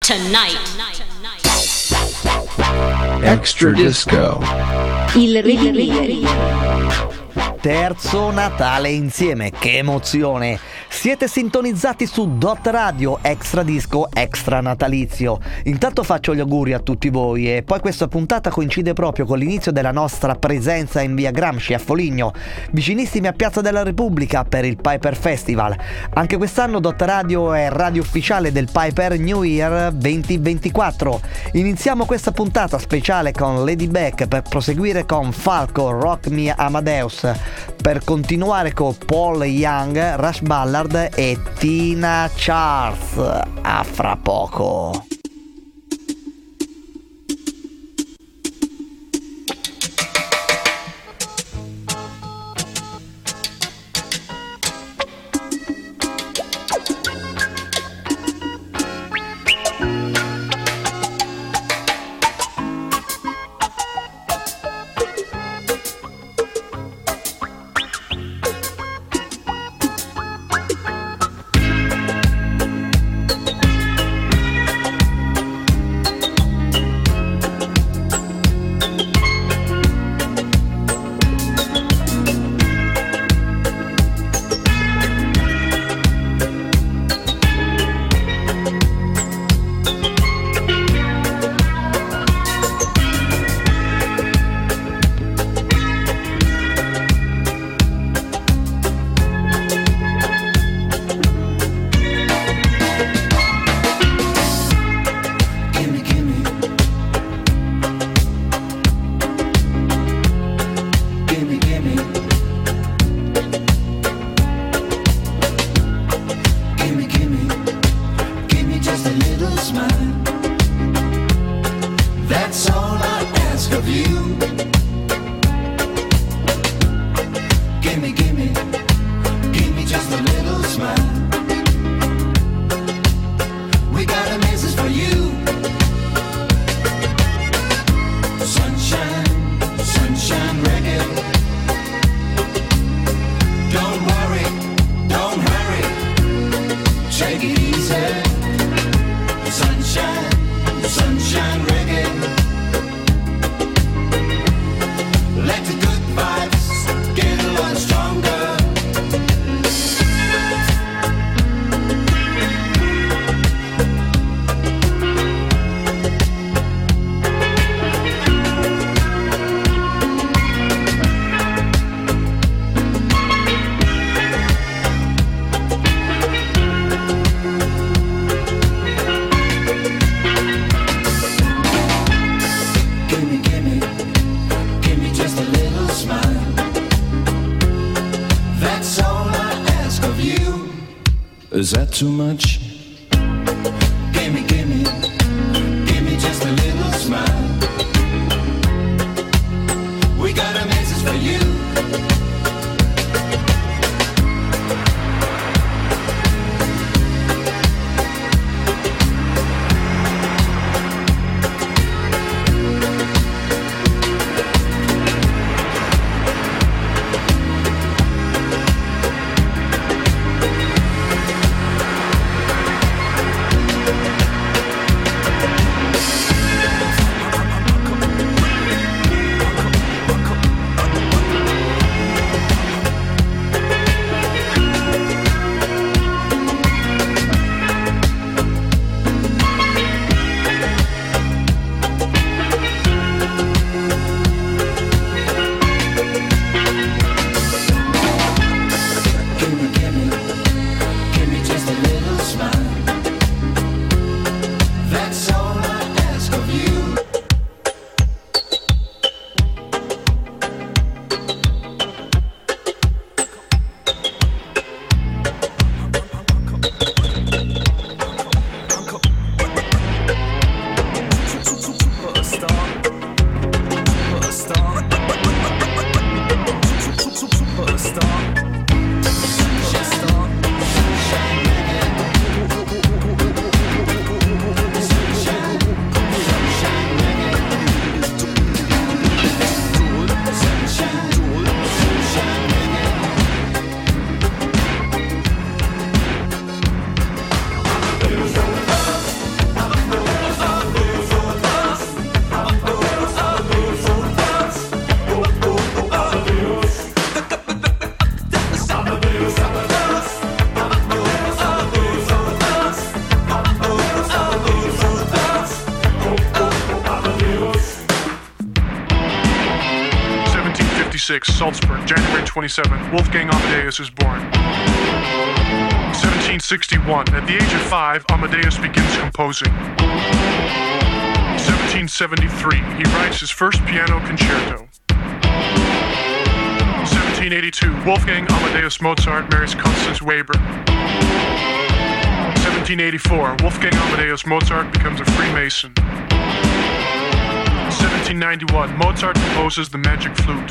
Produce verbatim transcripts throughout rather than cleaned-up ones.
Tonight. Extra Disco. Il Revivieri. Terzo Natale insieme, che emozione! Siete sintonizzati su Dot Radio, Extra Disco, Extra Natalizio. Intanto faccio gli auguri a tutti voi e poi questa puntata coincide proprio con l'inizio della nostra presenza in via Gramsci a Foligno, vicinissimi a Piazza della Repubblica per il Piper Festival. Anche quest'anno Dot Radio è radio ufficiale del Piper New Year duemilaventiquattro. Iniziamo questa puntata speciale con Lady Beck per proseguire con Falco, Rock Me Amadeus, per continuare con Paul Young, Rush Ballard e Tina Charles. A fra poco. Is that too much? Gimme, gimme, gimme just a little smile. We got a message for you. sixty-six, Salzburg, January twenty-seventh, Wolfgang Amadeus is born. seventeen sixty-one, at the age of five, Amadeus begins composing. seventeen seventy-three, he writes his first piano concerto. seventeen eighty-two, Wolfgang Amadeus Mozart marries Constance Weber. seventeen eighty-four, Wolfgang Amadeus Mozart becomes a Freemason. seventeen ninety-one, Mozart composes the Magic Flute.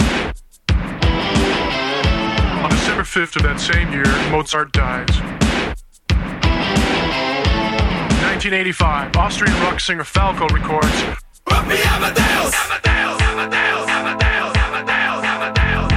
On December fifth of that same year, Mozart dies. nineteen eighty-five, Austrian rock singer Falco records Amadeus! Amadeus! Amadeus! Amadeus! Amadeus! Amadeus!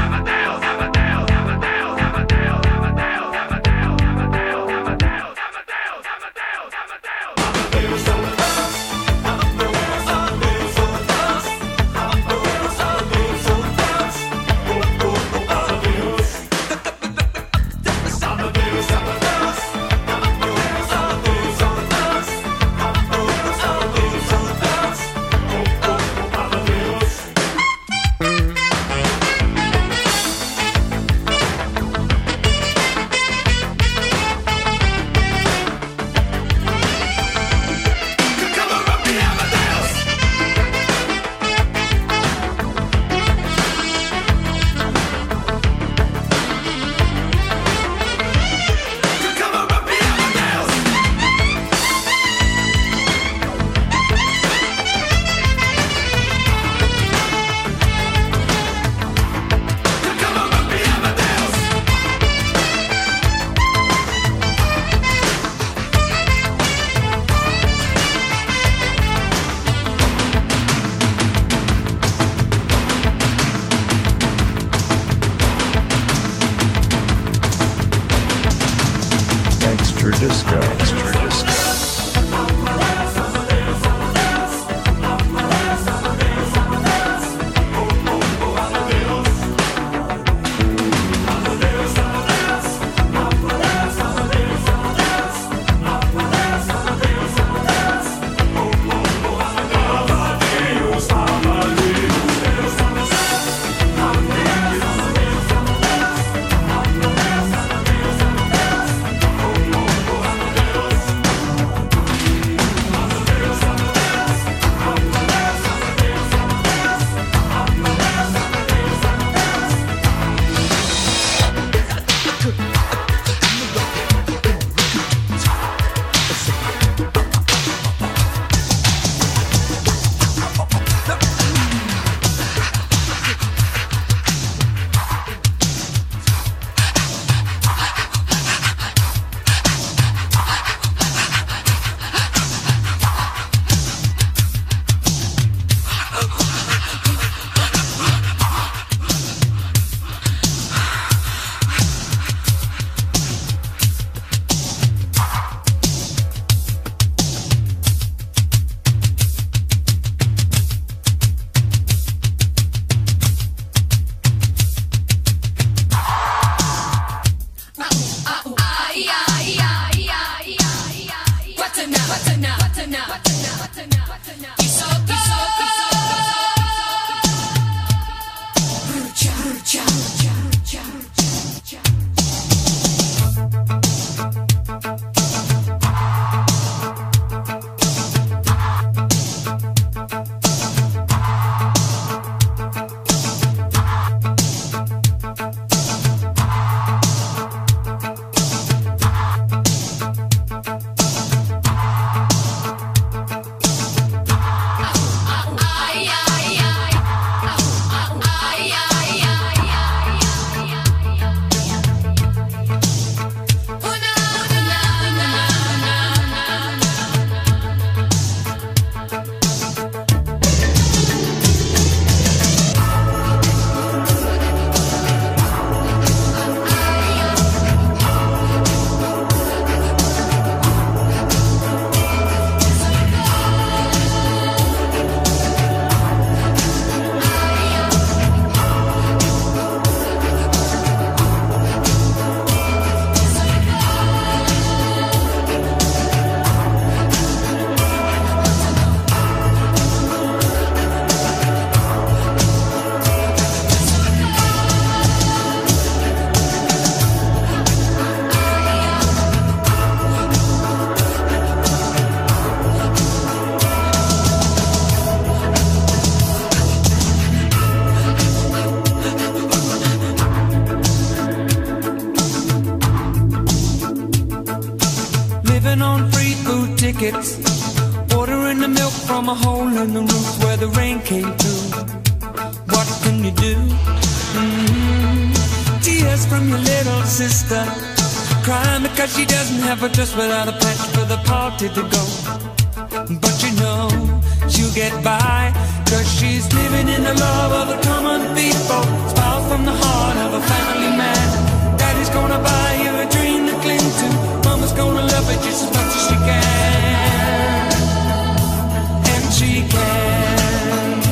milk from a hole in the roof where the rain came through. What can you do? Mm-hmm. Tears from your little sister, crying because she doesn't have a dress without a patch for the party to go. But you know she'll get by, cause she's living in the love of the common people. Smiles from the heart of a family man. Daddy's gonna buy you a dream to cling to. Mama's gonna love it just as much as she can. And she can.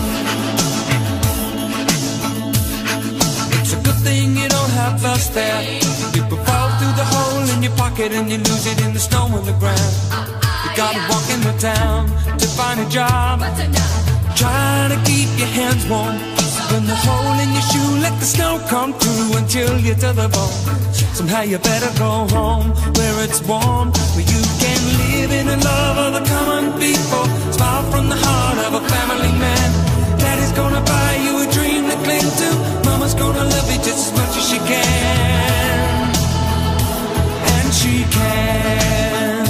It's a good thing you don't have us there. People fall through the hole in your pocket and you lose it in the snow on the ground. You gotta walk in the town to find a job, trying to keep your hands warm. When the hole in your shoe, let the snow come through until you're to the bone. Somehow you better go home where it's warm, where you can live in the love of the common people. Smile from the heart of a family man. Daddy's gonna buy you a dream to cling to. Mama's gonna love you just as much as she can. And she can.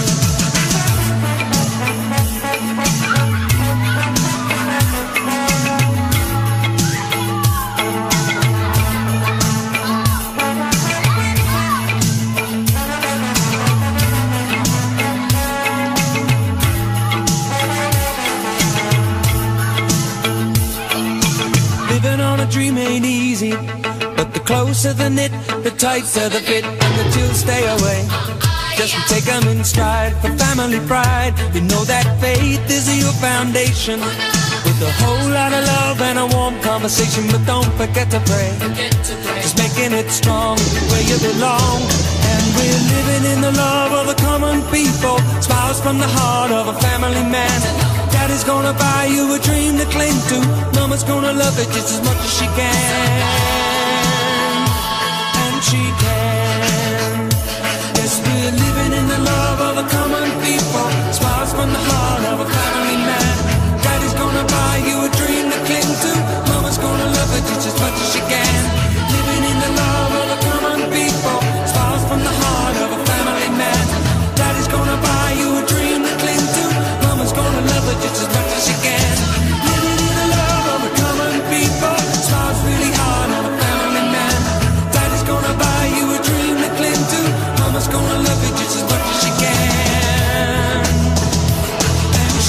Dream ain't easy, but the closer the knit, the tighter the fit, and the chills stay away. Just take them in stride for family pride. You know that faith is your foundation, with a whole lot of love and a warm conversation. But don't forget to pray, just making it strong where you belong. And we're living in the love of the common people. Smiles from the heart of a family man. Daddy's gonna buy you a dream to cling to. Mama's gonna love it just as much as she can. And she can. Yes, we're living in the love of the common people. Smiles from the heart of a family man. Daddy's gonna buy you a dream to cling to. Mama's gonna love it just as much as she can. Living in the love of the common people. Smiles from the heart of a family man. Daddy's gonna buy you a dream to cling to. Mama's gonna love it just as much as she can. Living in the love of the common people. Smiles really hard on a family man. Daddy's gonna buy you a dream to cling to. Mama's gonna love it just as much as she can. And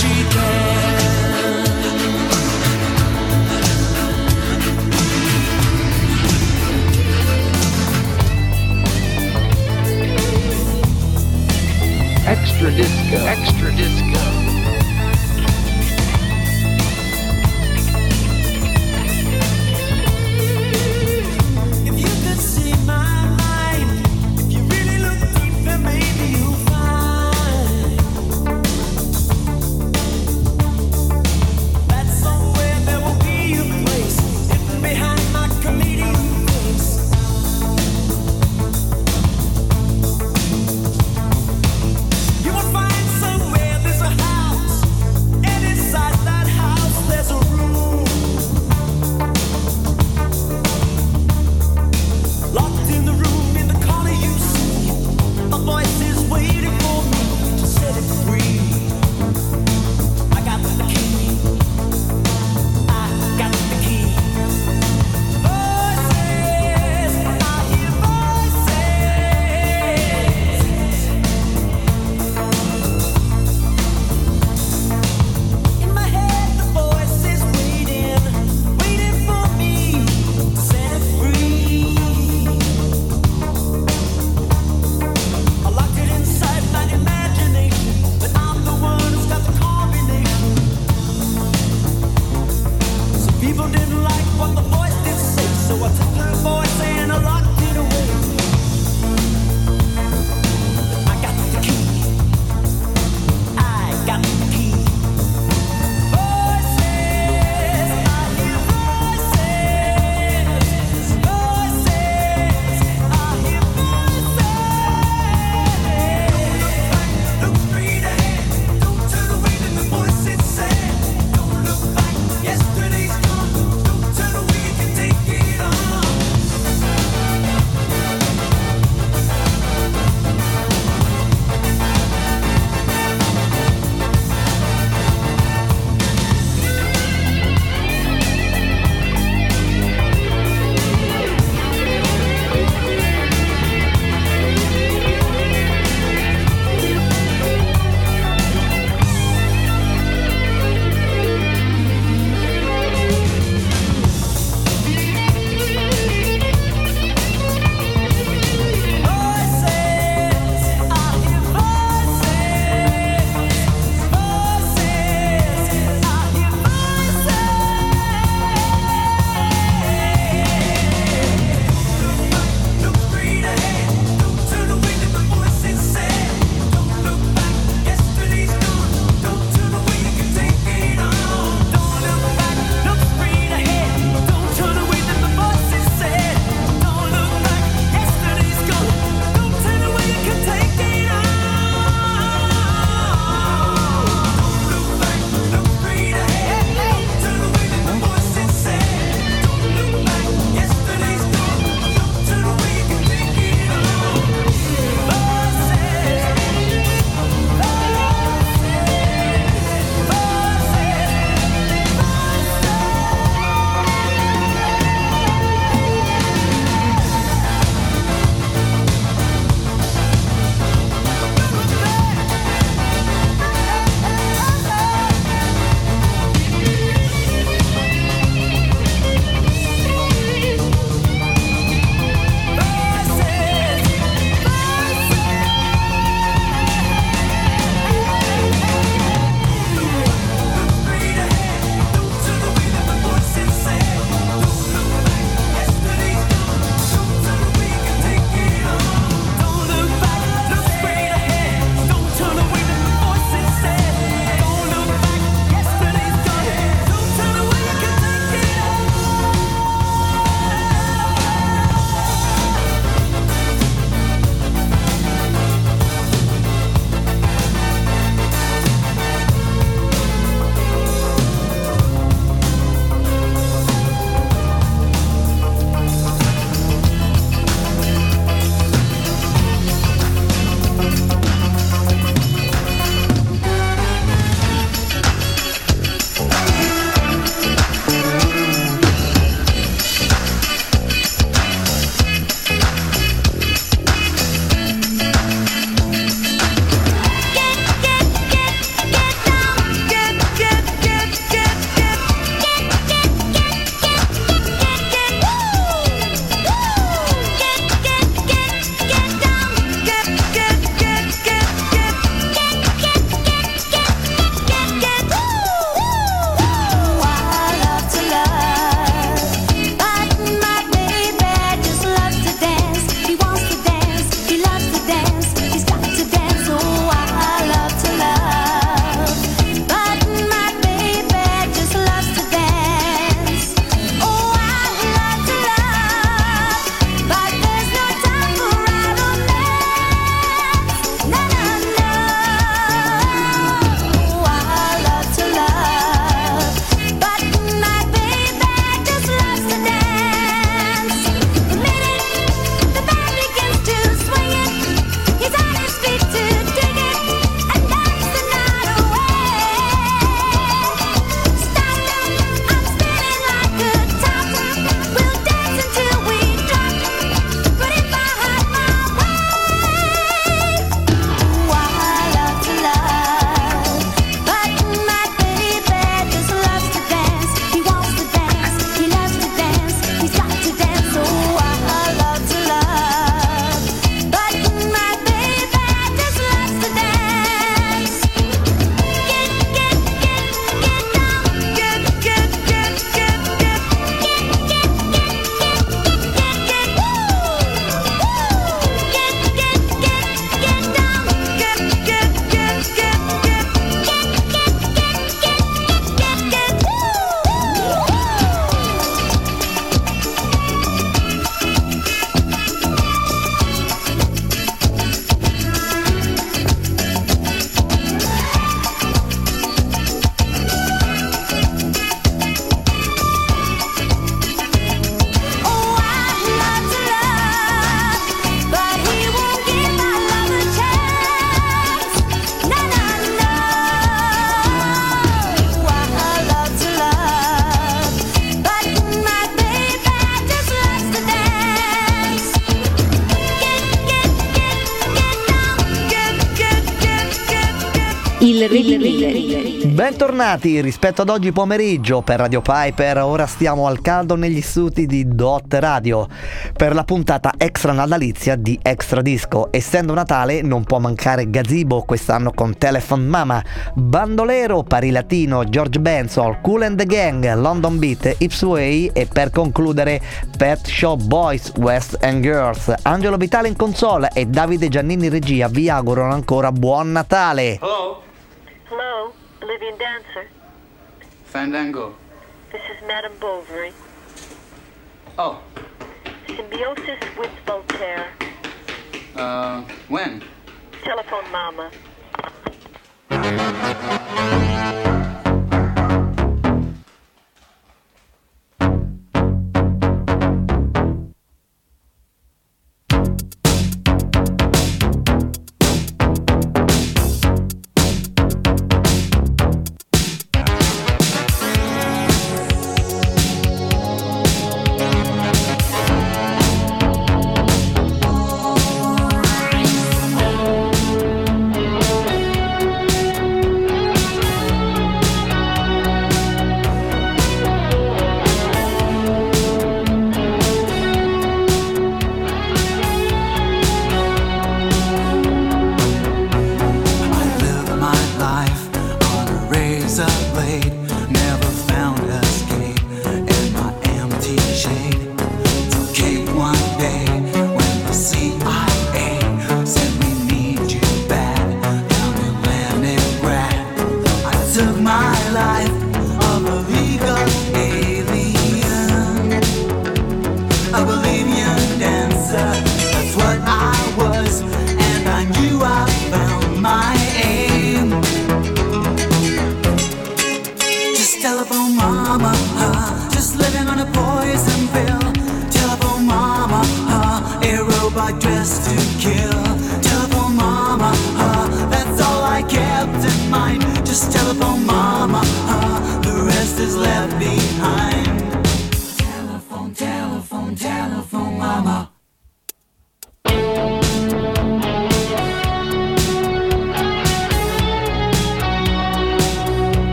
Il Rilli. Bentornati rispetto ad oggi pomeriggio per Radio Piper. Ora stiamo al caldo negli studi di Dot Radio per la puntata extra natalizia di Extra Disco. Essendo Natale non può mancare Gazebo quest'anno con Telephone Mama, Bandolero, Pari Latino, George Benson, Kool and the Gang, London Beat, Ipsway e per concludere Pet Shop Boys, West and Girls. Angelo Vitale in console e Davide Giannini in regia vi augurano ancora buon Natale. Hello, Hello, Bolivian dancer. Fandango. This is Madame Bovary. Oh, Symbiosis with Voltaire. uh, when? Telephone Mama.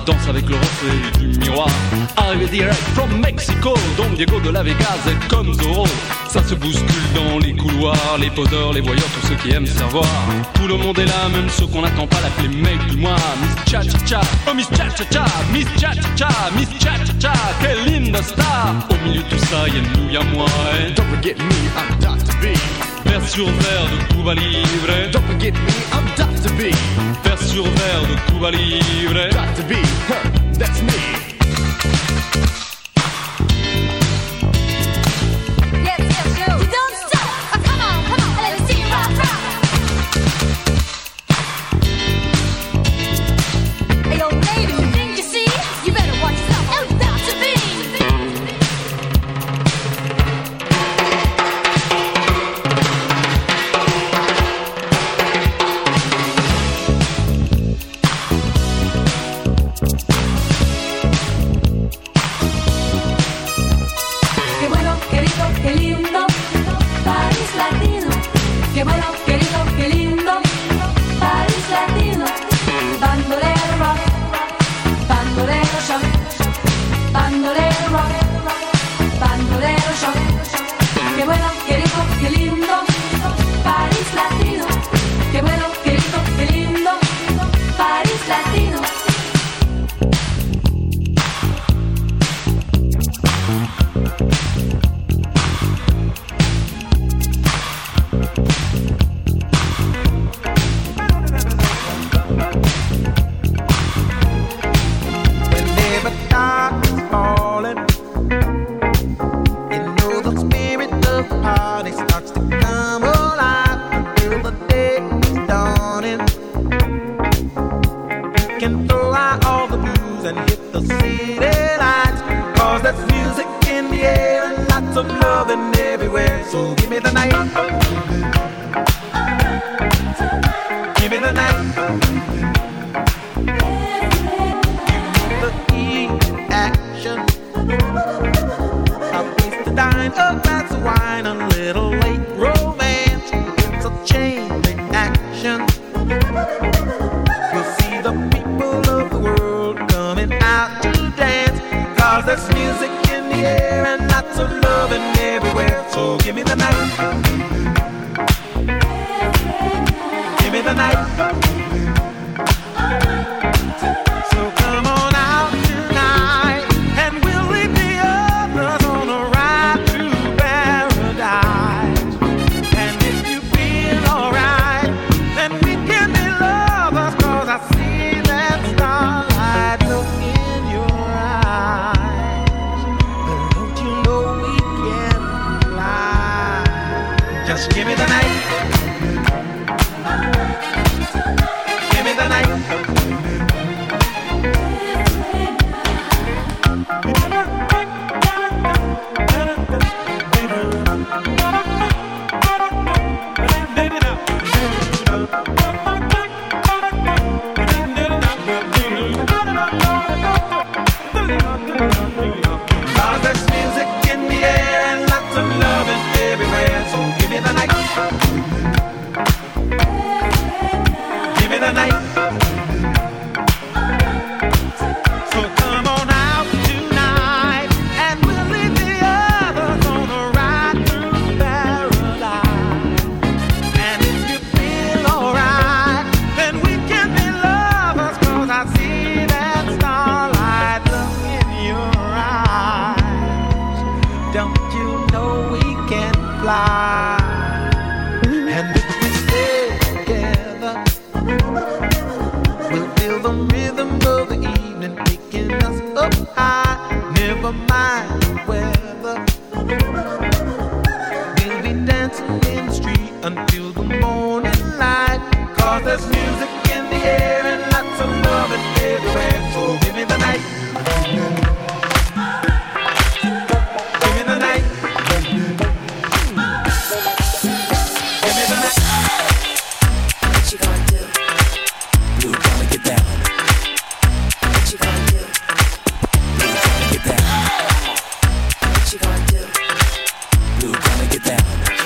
danse avec le reflet du miroir. Arrivé direct from Mexico, Don Diego de la Vegas est comme Zorro. Ça se bouscule dans les couloirs, les poseurs, les voyeurs, tous ceux qui aiment se faire voir. Tout le monde est là, même ceux qu'on n'attend pas, l'appeler mec du mois. Miss Cha Cha Cha, oh Miss Cha Cha Cha, Miss Cha Cha Cha, Miss Cha Cha Cha, quelle linda star. Au milieu de tout ça, y'a nous, y'a moi. Et don't forget me, I'm Doctor B. Vers sur verre de Cuba Libre. Don't forget me, I'm Doctor B. Vers sur verre de Cuba Libre. Doctor B, huh, that's me.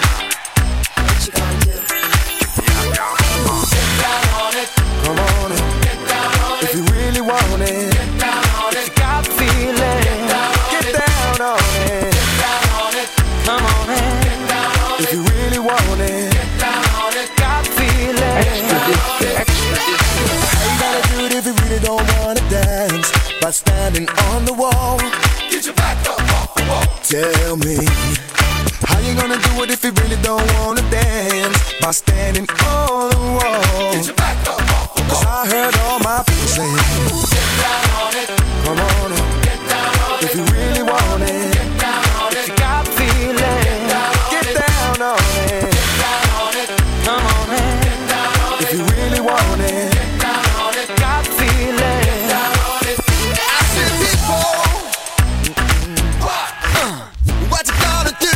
Come on in. standing on the wall. Get your back up off the wall. Tell me, how you gonna do it if you really don't wanna dance? By standing on the wall. Get your back up off the wall. 'Cause I heard all my people say, get down on it. Come on, get down on it. If you really want it, get down on it. If you got feeling, get down on it. Get down on it. Get down on it. Come on, man. Get down on it. If you really want it, get down on it. Got feeling, get down on it. I said, people, what? Uh, what you gonna do?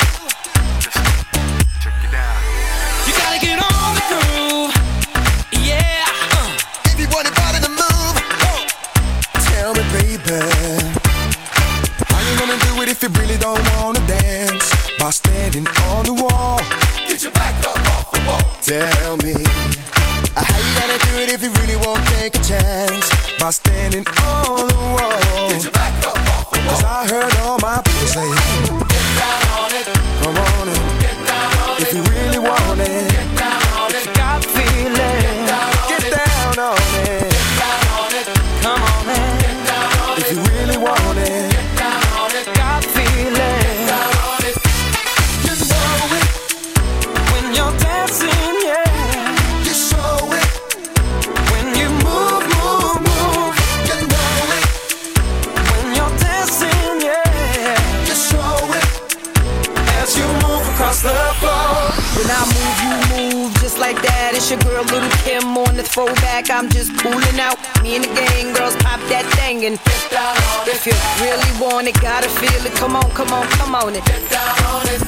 Check it out. You gotta get on the groove, yeah. Uh, if you want your body to move, oh. Tell me, baby, how you gonna do it if you really don't wanna dance? By standing on the wall. Get your back up off the wall. Tell me, uh, how you gonna do it if you really won't take a chance? By standing on the wall. Get your back up off the wall. 'Cause I heard all my people say, get down on it. Come on in. Get down on it. If you really want it, get down on it. If you got feeling, get down on it. Get down on it. Come on, man. Get down on it. If you really want it, get down on it. Got feeling, get down on it. You know it when you're dancing, yeah. You show it when you move, move, move. You know it when you're dancing, yeah. You show it as you move across the floor. When I move, you move just like that. It's your girl, Little Kim, on the throwback. I'm just cooling out. Me and the gang girls pop that thing and get down on it. If you really want it, gotta feel it. Come on, come on, come on it. Get down on it.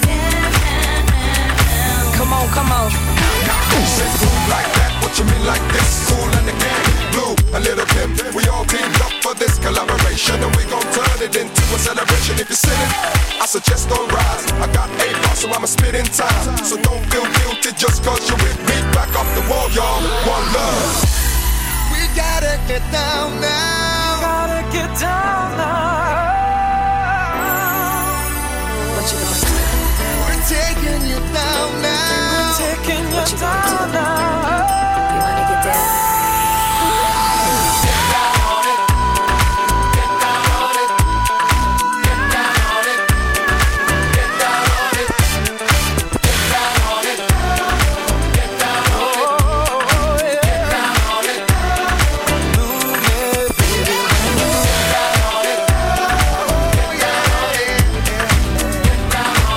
Come on, come on. Say move like that, what you mean like this? Cool and the gang, Blue and Little Kim. We all teamed up for this collaboration, and we gon' turn it into a celebration. If you're sitting, I suggest don't rise. I got eight bars, so I'ma spit in time. So don't feel guilty just 'cause you're with me. Back off the wall, y'all. One love. We gotta get down now. Gotta get down now. What you gonna do? We're taking you down now. We're taking you What you gonna do? down now. You wanna get down? Get down on it. Get down on it. Get down on it. Get down on it. Get down on it. Get down on it. Get down on it. Move it, baby. Get down on it. Get down on it. Get down on it.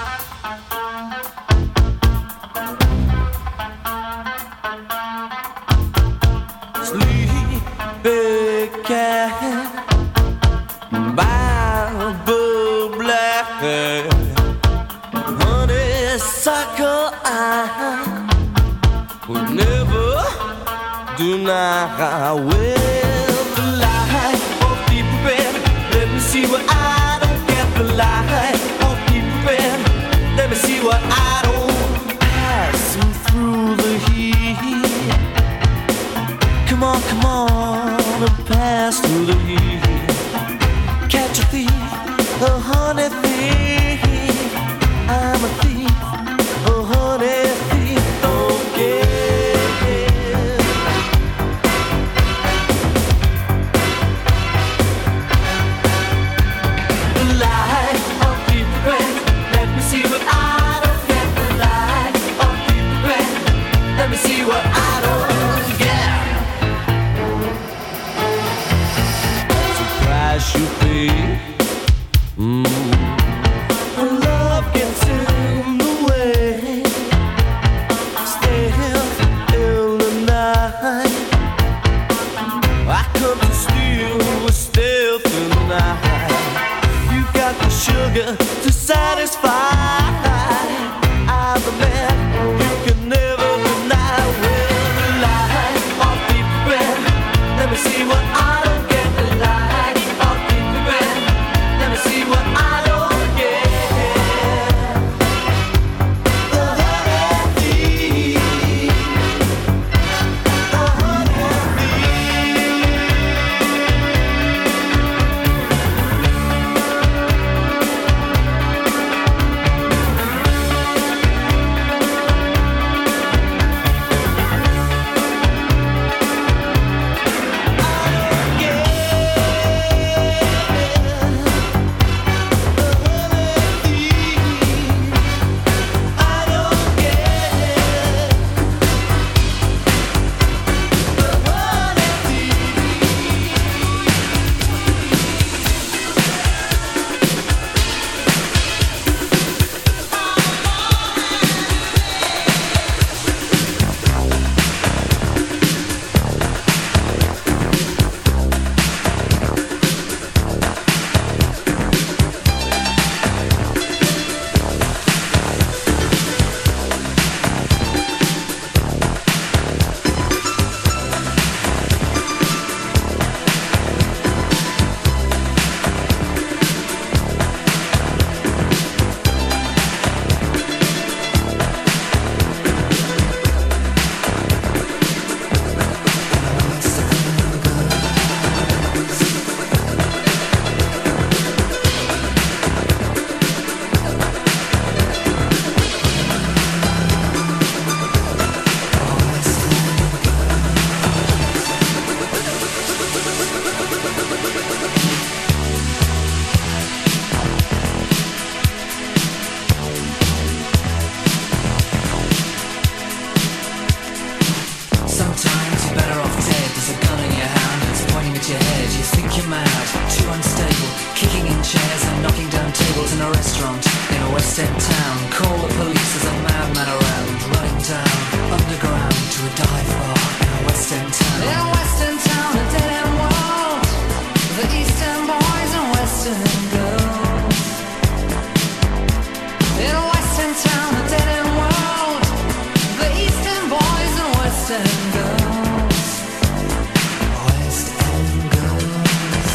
Sleepy cat by the black honeysuckle I would never deny. Well, the light of deep red, let me see what I don't get. The light of deep red, let me see what I don't. Passing through the heat, come on, come on, and pass through the heat. Catch a thief, a honey thief. I'm a thief, a honey thief. Okay. The light of deep red, let me see what I don't get. The light of deep red, let me see what I don't get. Price you pay, mm. When love gets in the way, stealth in the night. I come to steal with stealth in the night. You got the sugar to satisfy. I'm the man you can never deny. Well, the light of deep red, let me see what I don't get. The light of deep red, let me see what I don't get. The honey thief, the honey thief. Sometimes you're better off dead. There's a gun in your hand, it's pointing at your head. You think you're mad, too unstable, kicking in chairs and knocking down tables in a restaurant in a West End town. Call the police, there's a madman around, running down underground to a dive bar in a West End town. In a West End town, a dead end world, the Eastern boys and Western girls. In a West End town, a dead end world, the Eastern boys and Western girls. West End girls.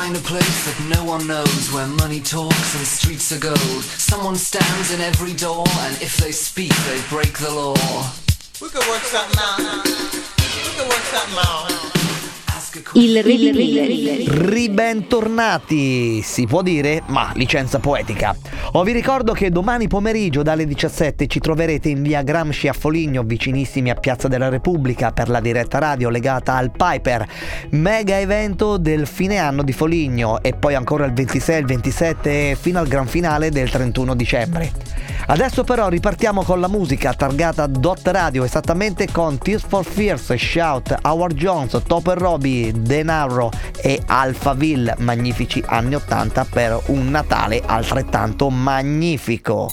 find a place that no one knows, where money talks and streets are gold. Someone stands in every door, and if they speak, they break the law. We could work something out. We could work something out. Il Rilli. Ribentornati, si può dire, ma licenza poetica. O vi ricordo che domani pomeriggio dalle diciassette ci troverete in via Gramsci a Foligno, vicinissimi a Piazza della Repubblica, per la diretta radio legata al Piper, mega evento del fine anno di Foligno, e poi ancora il ventisei, il ventisette fino al gran finale del trentuno dicembre. Adesso però ripartiamo con la musica targata Dot Radio, esattamente con Tears for Fears, Shout, Howard Jones, Topper Robbie, Denaro e Alphaville, magnifici anni ottanta per un Natale altrettanto magnifico.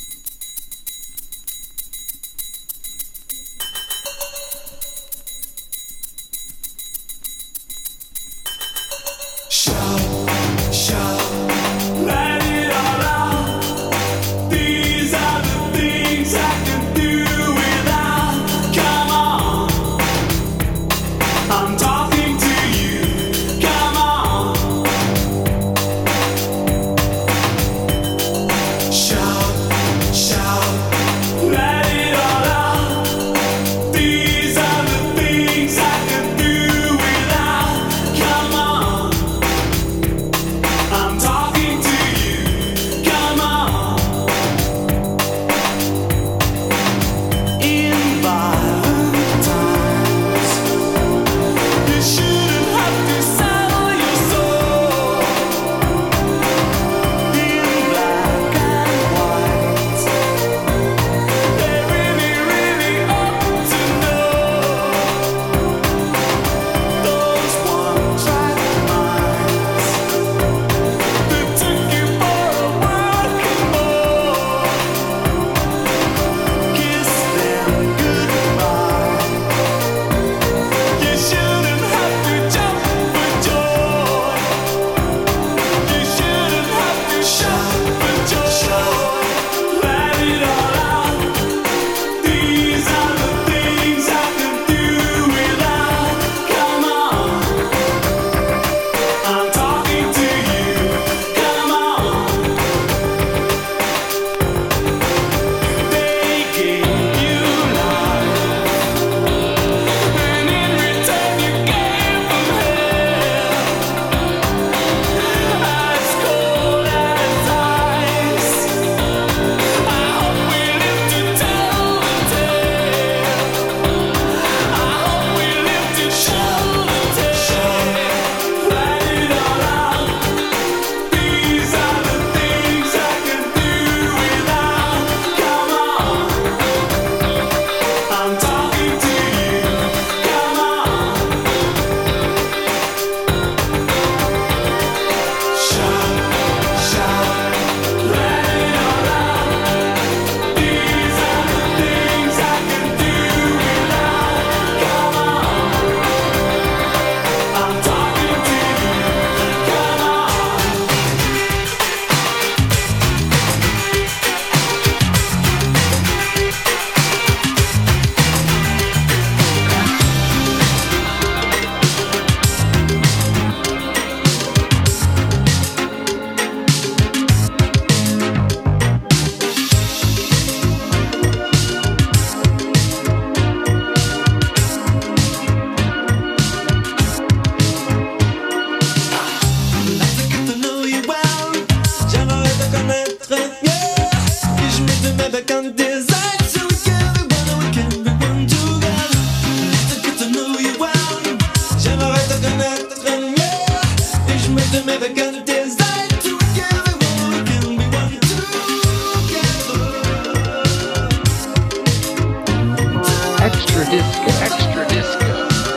Extra disco, extra disco.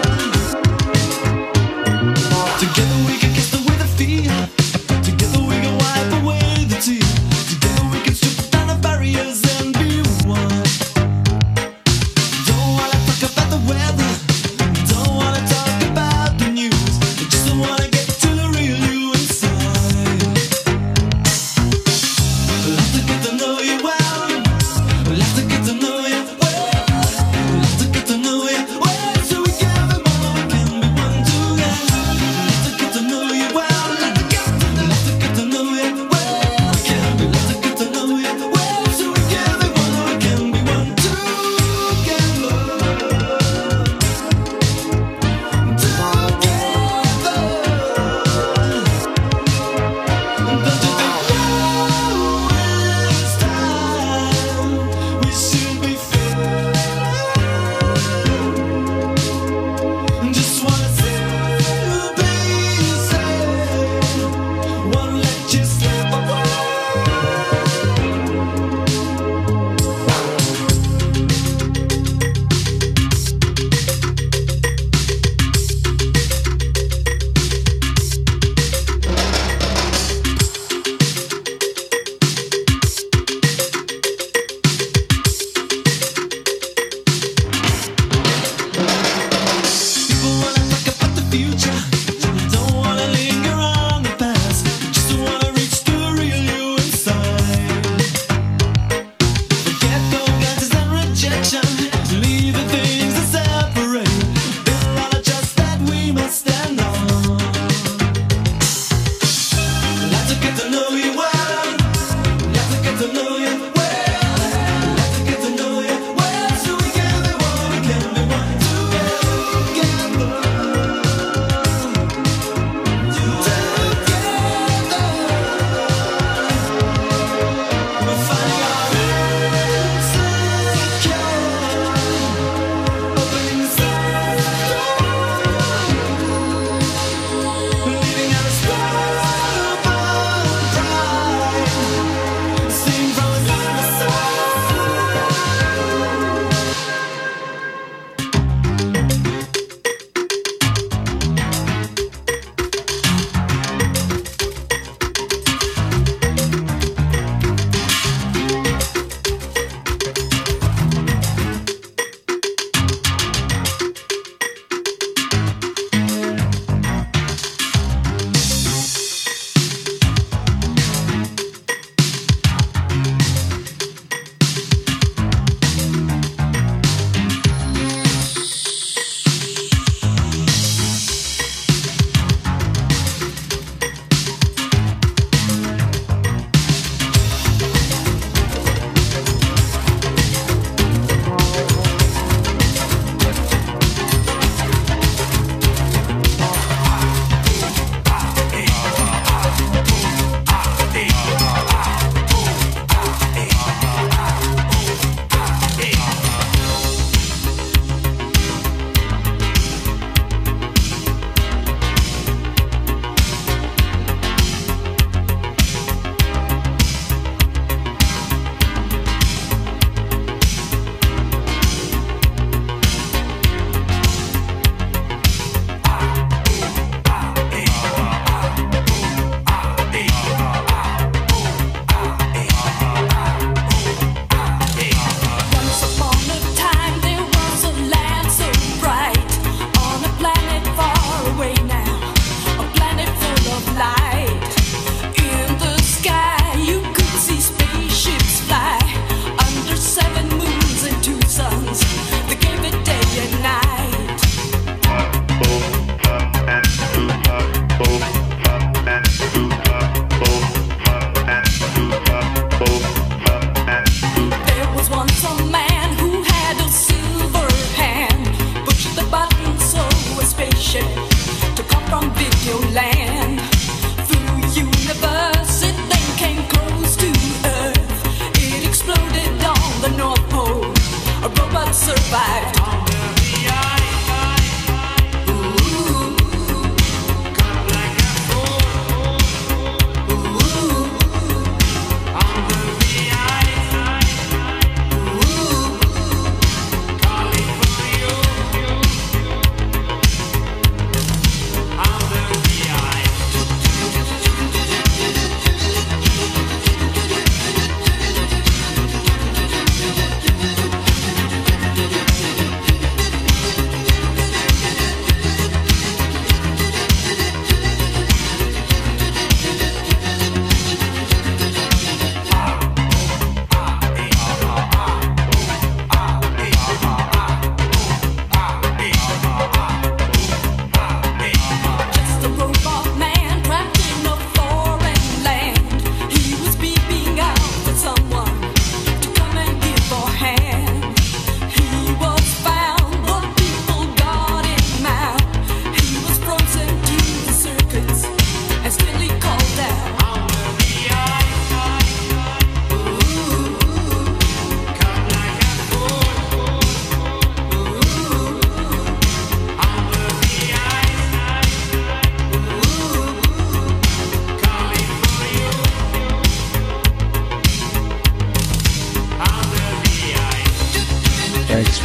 Together we can kiss the way the feet. Together we can wipe away the tears. Together we can strip down the barriers and be one. Don't wanna talk about the weather. Don't wanna talk about the news. I just wanna get to the real you inside. Love to get to know you well. Love to get to know you well. Love to get to know you well.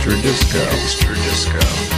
Extra disco. Extra disco.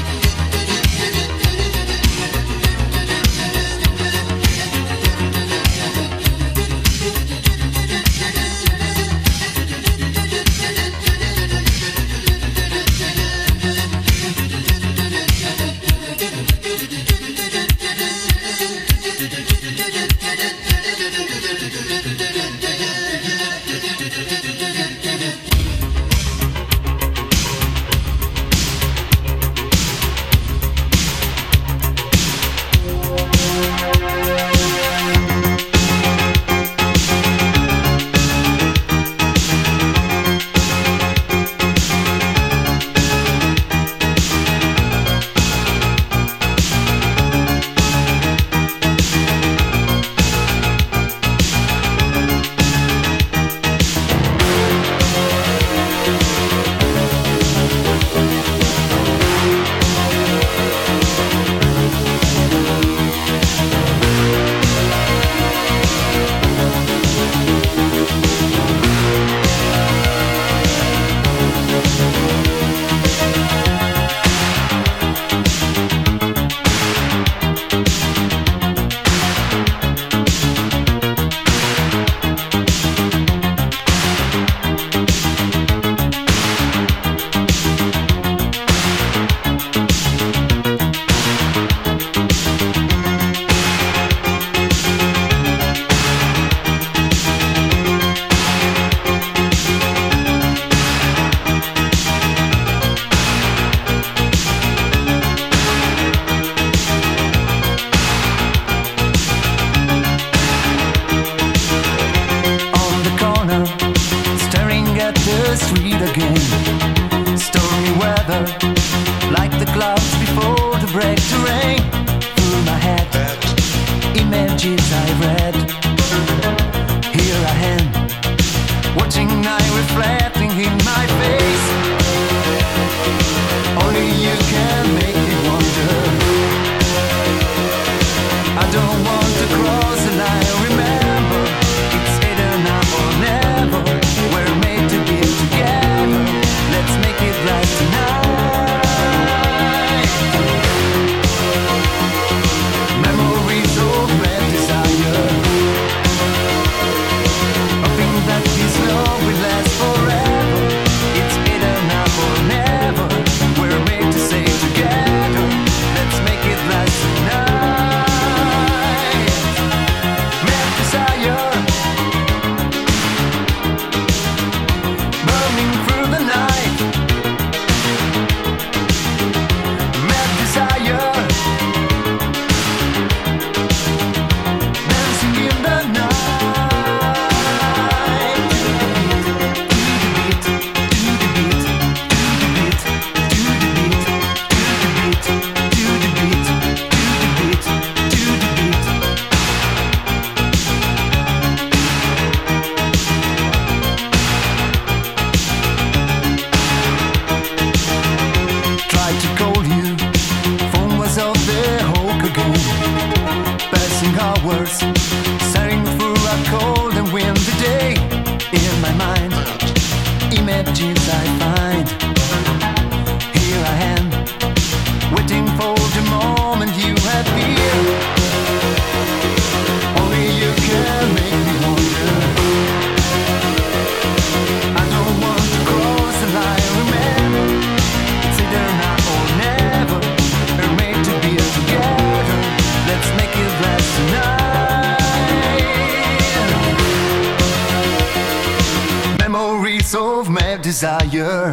Desire,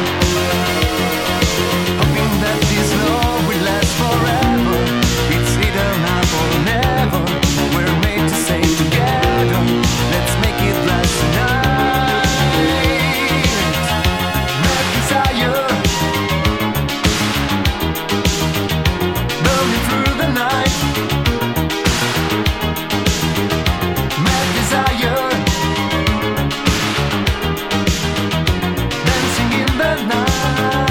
hoping that this love will last forever. It's either now or never. We're made to stay together. Let's make it last tonight. Mad desire, burning through the night. Mad desire. Night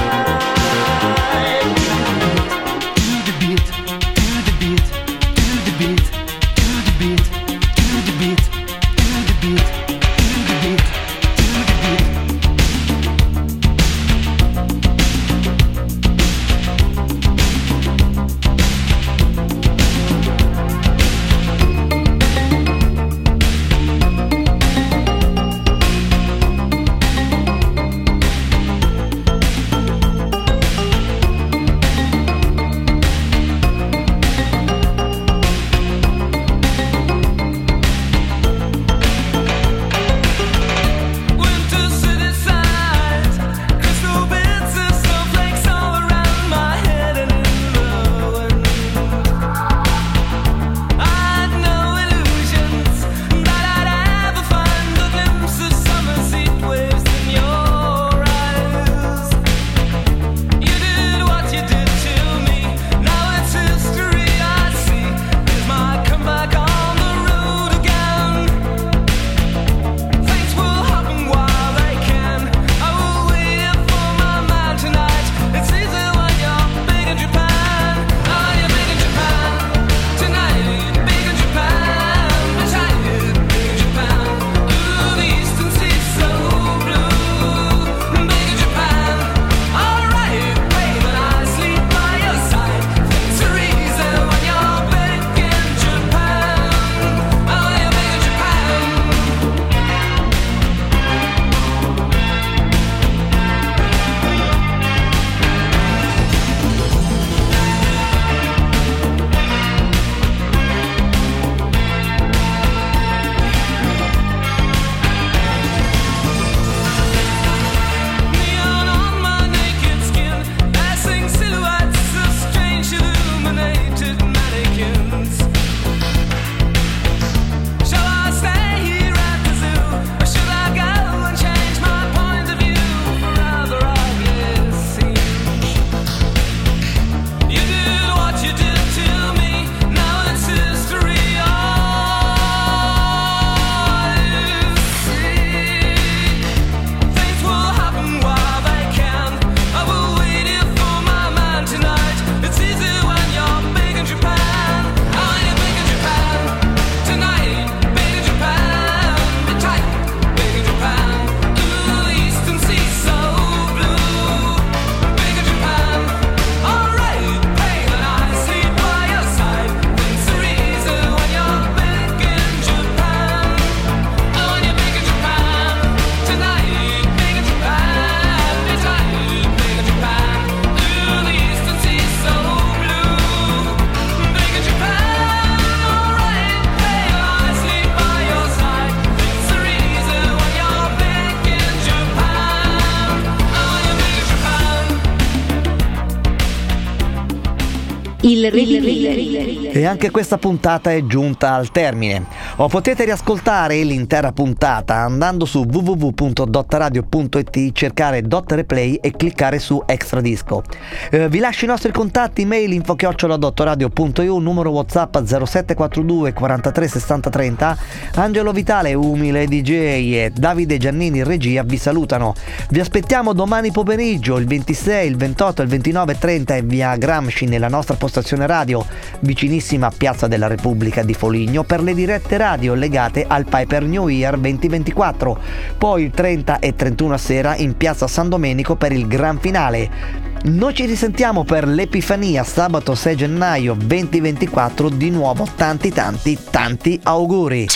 Il rilì. E anche questa puntata è giunta al termine. O potete riascoltare l'intera puntata andando su w w w punto dot radio punto i t, cercare Dot Replay e cliccare su Extra Disco. Eh, vi lascio i nostri contatti: mail info chiocciola dot radio punto i u, numero WhatsApp zero sette quattro due quarantatré sessanta trenta. Angelo Vitale, umile D J, e Davide Giannini in regia vi salutano. Vi aspettiamo domani pomeriggio, il ventisei, il ventotto, il ventinove e trenta, in via Gramsci, nella nostra postazione radio vicinissima a Piazza della Repubblica di Foligno, per le dirette radio legate al Piper New Year duemilaventiquattro. Poi il trenta e trentuno sera in Piazza San Domenico per il gran finale. Noi ci risentiamo per l'Epifania sabato sei gennaio duemilaventiquattro. Di nuovo tanti tanti tanti auguri.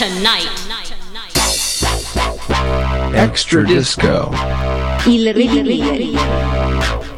Extra Disco. Il rilì.